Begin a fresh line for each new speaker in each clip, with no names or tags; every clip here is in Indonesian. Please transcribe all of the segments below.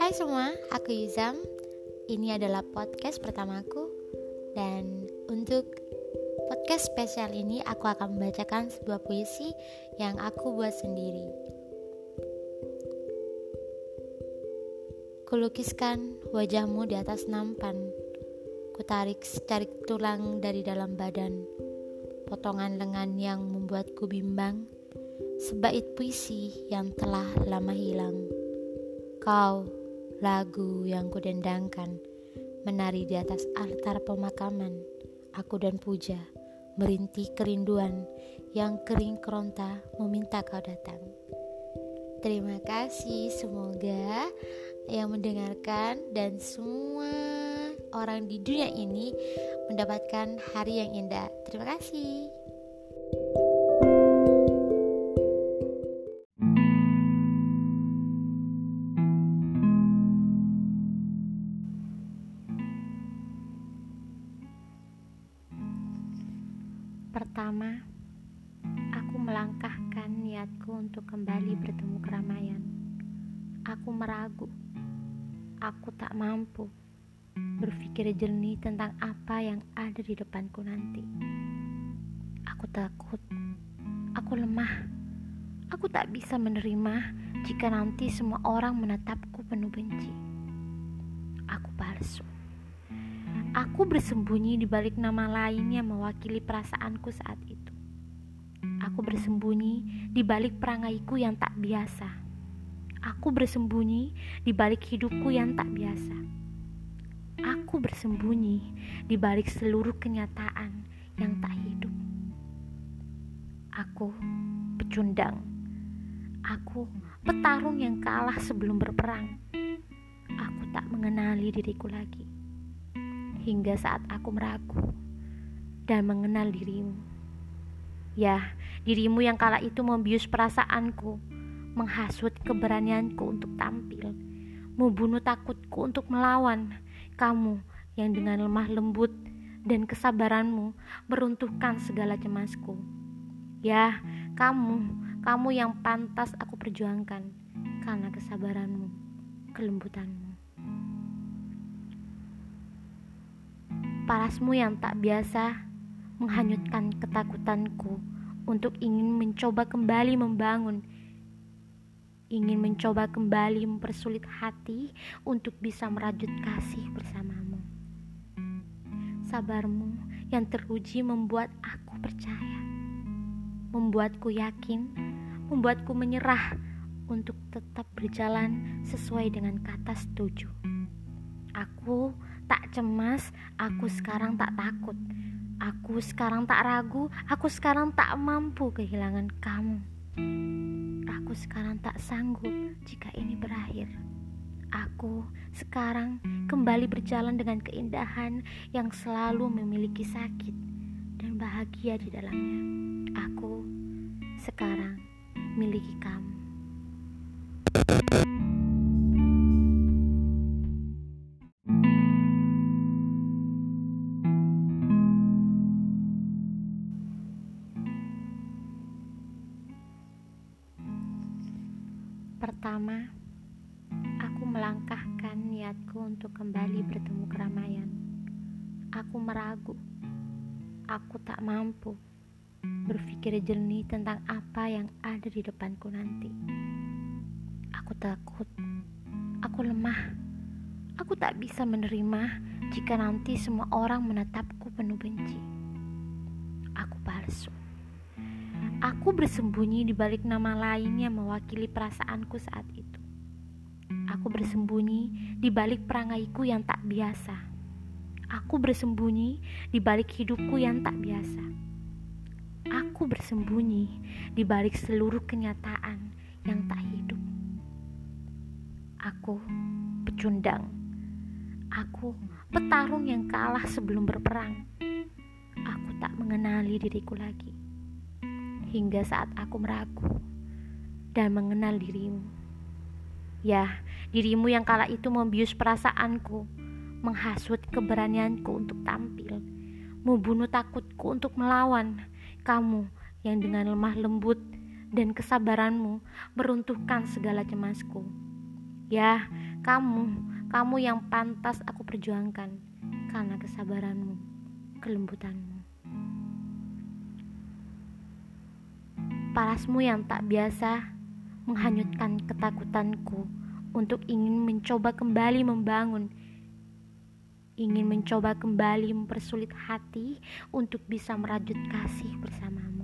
Hai semua, aku Yuzam. Ini adalah podcast pertamaku. Dan untuk podcast spesial ini aku akan membacakan sebuah puisi yang aku buat sendiri. Kulukiskan wajahmu di atas nampan. Kutarik secarik tulang dari dalam badan. Potongan lengan yang membuatku bimbang. Sebait puisi yang telah lama hilang. Kau, lagu yang kudendangkan, menari di atas altar pemakaman. Aku dan Puja, merintih kerinduan yang kering keronta meminta kau datang. Terima kasih, semoga yang mendengarkan dan semua orang di dunia ini mendapatkan hari yang indah. Terima kasih. Pertama, aku melangkahkan niatku untuk kembali bertemu keramaian. Aku meragu, aku tak mampu berpikir jernih tentang apa yang ada di depanku nanti. Aku takut, aku lemah, aku tak bisa menerima jika nanti semua orang menatapku penuh benci. Aku palsu. Aku bersembunyi di balik nama lain yang mewakili perasaanku saat itu. Aku bersembunyi di balik perangaiku yang tak biasa. Aku bersembunyi di balik hidupku yang tak biasa. Aku bersembunyi di balik seluruh kenyataan yang tak hidup. Aku pecundang. Aku petarung yang kalah sebelum berperang. Aku tak mengenali diriku lagi. Hingga saat aku meragu dan mengenal dirimu. Ya, dirimu yang kala itu membius perasaanku, menghasut keberanianku untuk tampil, membunuh takutku untuk melawan. Kamu yang dengan lemah lembut dan kesabaranmu meruntuhkan segala cemasku. Ya, kamu yang pantas aku perjuangkan karena kesabaranmu, kelembutanmu. Parasmu yang tak biasa menghanyutkan ketakutanku untuk ingin mencoba kembali membangun, ingin mencoba kembali mempersulit hati untuk bisa merajut kasih bersamamu. Sabarmu yang teruji membuat aku percaya, membuatku yakin, membuatku menyerah untuk tetap berjalan sesuai dengan kata setuju. Aku tak cemas, aku sekarang tak takut. Aku sekarang tak ragu, aku sekarang tak mampu kehilangan kamu. Aku sekarang tak sanggup jika ini berakhir. Aku sekarang kembali berjalan dengan keindahan yang selalu memiliki sakit dan bahagia di dalamnya. Aku sekarang miliki kamu. Pertama, aku melangkahkan niatku untuk kembali bertemu keramaian. Aku meragu, aku tak mampu berpikir jernih tentang apa yang ada di depanku nanti. Aku takut, aku lemah, aku tak bisa menerima jika nanti semua orang menatapku penuh benci. Aku palsu. Aku bersembunyi di balik nama lain yang mewakili perasaanku saat itu. Aku bersembunyi di balik perangaiku yang tak biasa. Aku bersembunyi di balik hidupku yang tak biasa. Aku bersembunyi di balik seluruh kenyataan yang tak hidup. Aku pecundang. Aku petarung yang kalah sebelum berperang. Aku tak mengenali diriku lagi. Hingga saat aku meragu dan mengenal dirimu. Ya, dirimu yang kala itu membius perasaanku, menghasut keberanianku untuk tampil, membunuh takutku untuk melawan. Kamu yang dengan lemah lembut dan kesabaranmu meruntuhkan segala cemasku. Ya, Kamu yang pantas aku perjuangkan karena kesabaranmu, kelembutanmu. Parasmu yang tak biasa menghanyutkan ketakutanku untuk ingin mencoba kembali membangun, ingin mencoba kembali mempersulit hati untuk bisa merajut kasih bersamamu.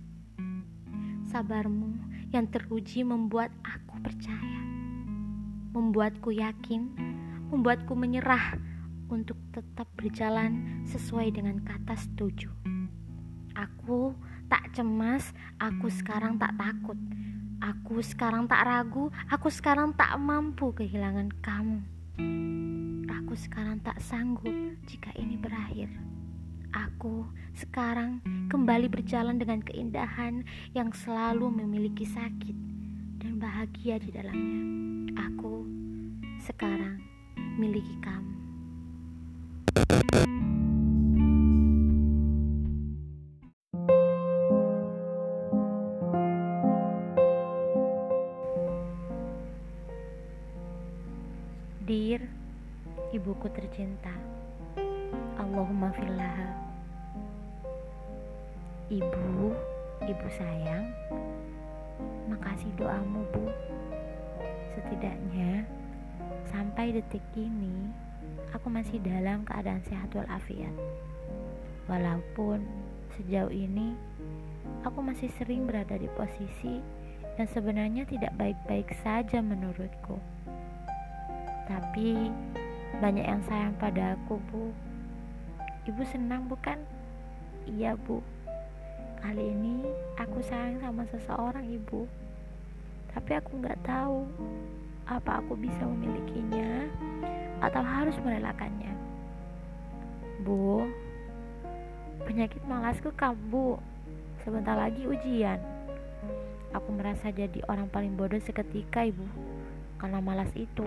Sabarmu yang teruji membuat aku percaya, membuatku yakin, membuatku menyerah untuk tetap berjalan sesuai dengan kata setuju. Aku tak cemas, aku sekarang tak takut, aku sekarang tak ragu, aku sekarang tak mampu kehilangan kamu. Aku sekarang tak sanggup jika ini berakhir. Aku sekarang kembali berjalan dengan keindahan yang selalu memiliki sakit dan bahagia di dalamnya. Aku sekarang miliki kamu. Dear ibuku tercinta, Allahumma fillaha. Ibu sayang, makasih doamu, Bu. Setidaknya sampai detik ini aku masih dalam keadaan sehat walafiat. Walaupun sejauh ini aku masih sering berada di posisi yang sebenarnya tidak baik-baik saja menurutku. Tapi banyak yang sayang pada aku, Bu. Ibu senang bukan? Iya, Bu. Kali ini aku sayang sama seseorang, Ibu. Tapi aku gak tahu apa aku bisa memilikinya atau harus merelakannya. Bu, penyakit malasku kambuh. Sebentar lagi ujian. Aku merasa jadi orang paling bodoh seketika, Ibu, karena malas itu.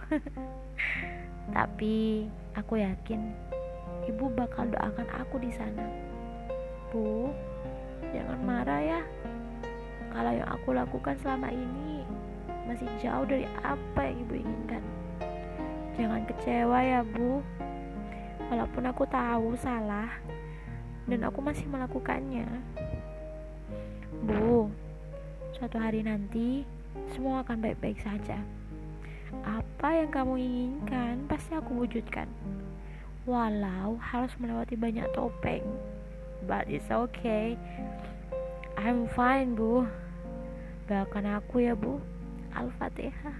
Tapi aku yakin Ibu bakal doakan aku di sana. Bu, jangan marah ya kalau yang aku lakukan selama ini masih jauh dari apa yang Ibu inginkan. Jangan kecewa ya, Bu. Walaupun aku tahu salah dan aku masih melakukannya. Bu, suatu hari nanti semua akan baik-baik saja. Apa yang kamu inginkan pasti aku wujudkan, walau harus melewati banyak topeng. But it's okay, I'm fine, Bu. Doakan aku ya, Bu. Al-Fatihah.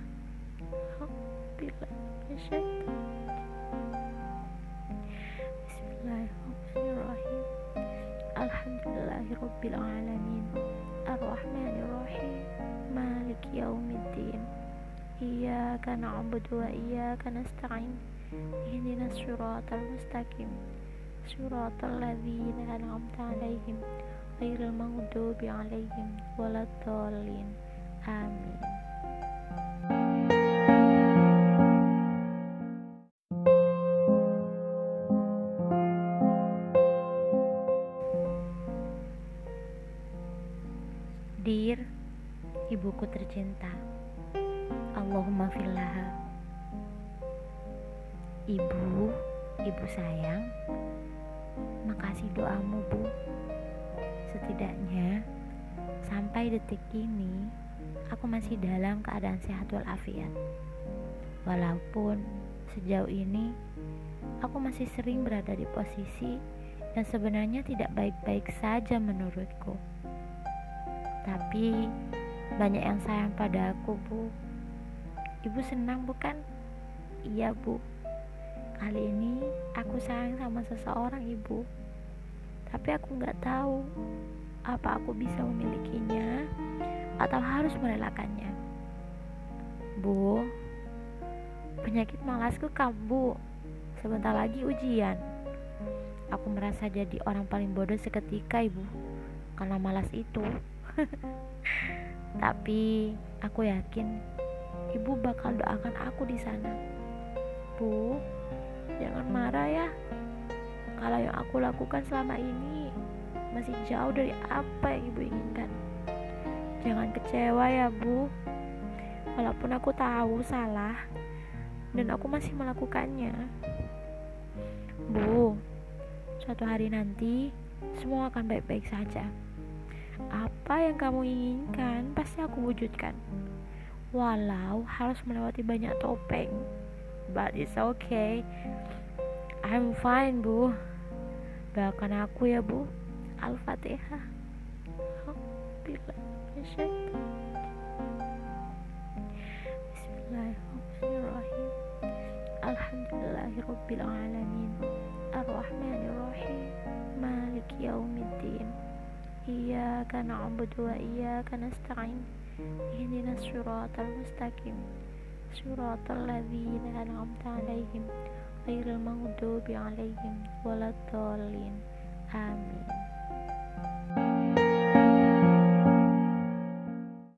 Bismillahirrahmanirrahim. Alhamdulillahirabbil alamin. Ar-Rahmanirrahim. Maliki yaumiddin. Iyyaka na'budu wa iyyaka nasta'in. Ihdinas siratal mustaqim. Siratal ladzina an'amta 'alaihim ghairil maghdubi 'alaihim waladdallin. Amin. Dear ibuku tercinta, Allahumma fillaha. Ibu sayang, makasih doamu, Bu. Setidaknya sampai detik ini aku masih dalam keadaan sehat walafiat. Walaupun sejauh ini aku masih sering berada di posisi yang sebenarnya tidak baik-baik saja menurutku. Tapi banyak yang sayang pada aku, Bu. Ibu senang bukan? Iya, Bu. Kali ini aku sayang sama seseorang, Ibu. Tapi aku gak tahu apa aku bisa memilikinya atau harus merelakannya. Bu, penyakit malasku kambuh. Sebentar lagi ujian. Aku merasa jadi orang paling bodoh seketika, Ibu, karena malas itu. Tapi aku yakin Ibu bakal doakan aku di sana. Bu, jangan marah ya kalau yang aku lakukan selama ini masih jauh dari apa yang Ibu inginkan. Jangan kecewa ya, Bu. Walaupun aku tahu salah dan aku masih melakukannya. Bu, suatu hari nanti semua akan baik-baik saja. Apa yang kamu inginkan pasti aku wujudkan, walau harus melewati banyak topeng. But it's okay, I'm fine, Bu. Doakan aku ya, Bu. Al-Fatihah. Bismillahirrahmanirrahim. Alhamdulillahirabbil alamin. Arrahmanirrahim. Maliki yaumiddin. Iyyaka na'budu wa iyyaka nasta'in. Ihdinas siratal mustaqim. Siratal ladzina an'amta 'alaihim ghairil maghdubi 'alaihim waladdallin. Amin.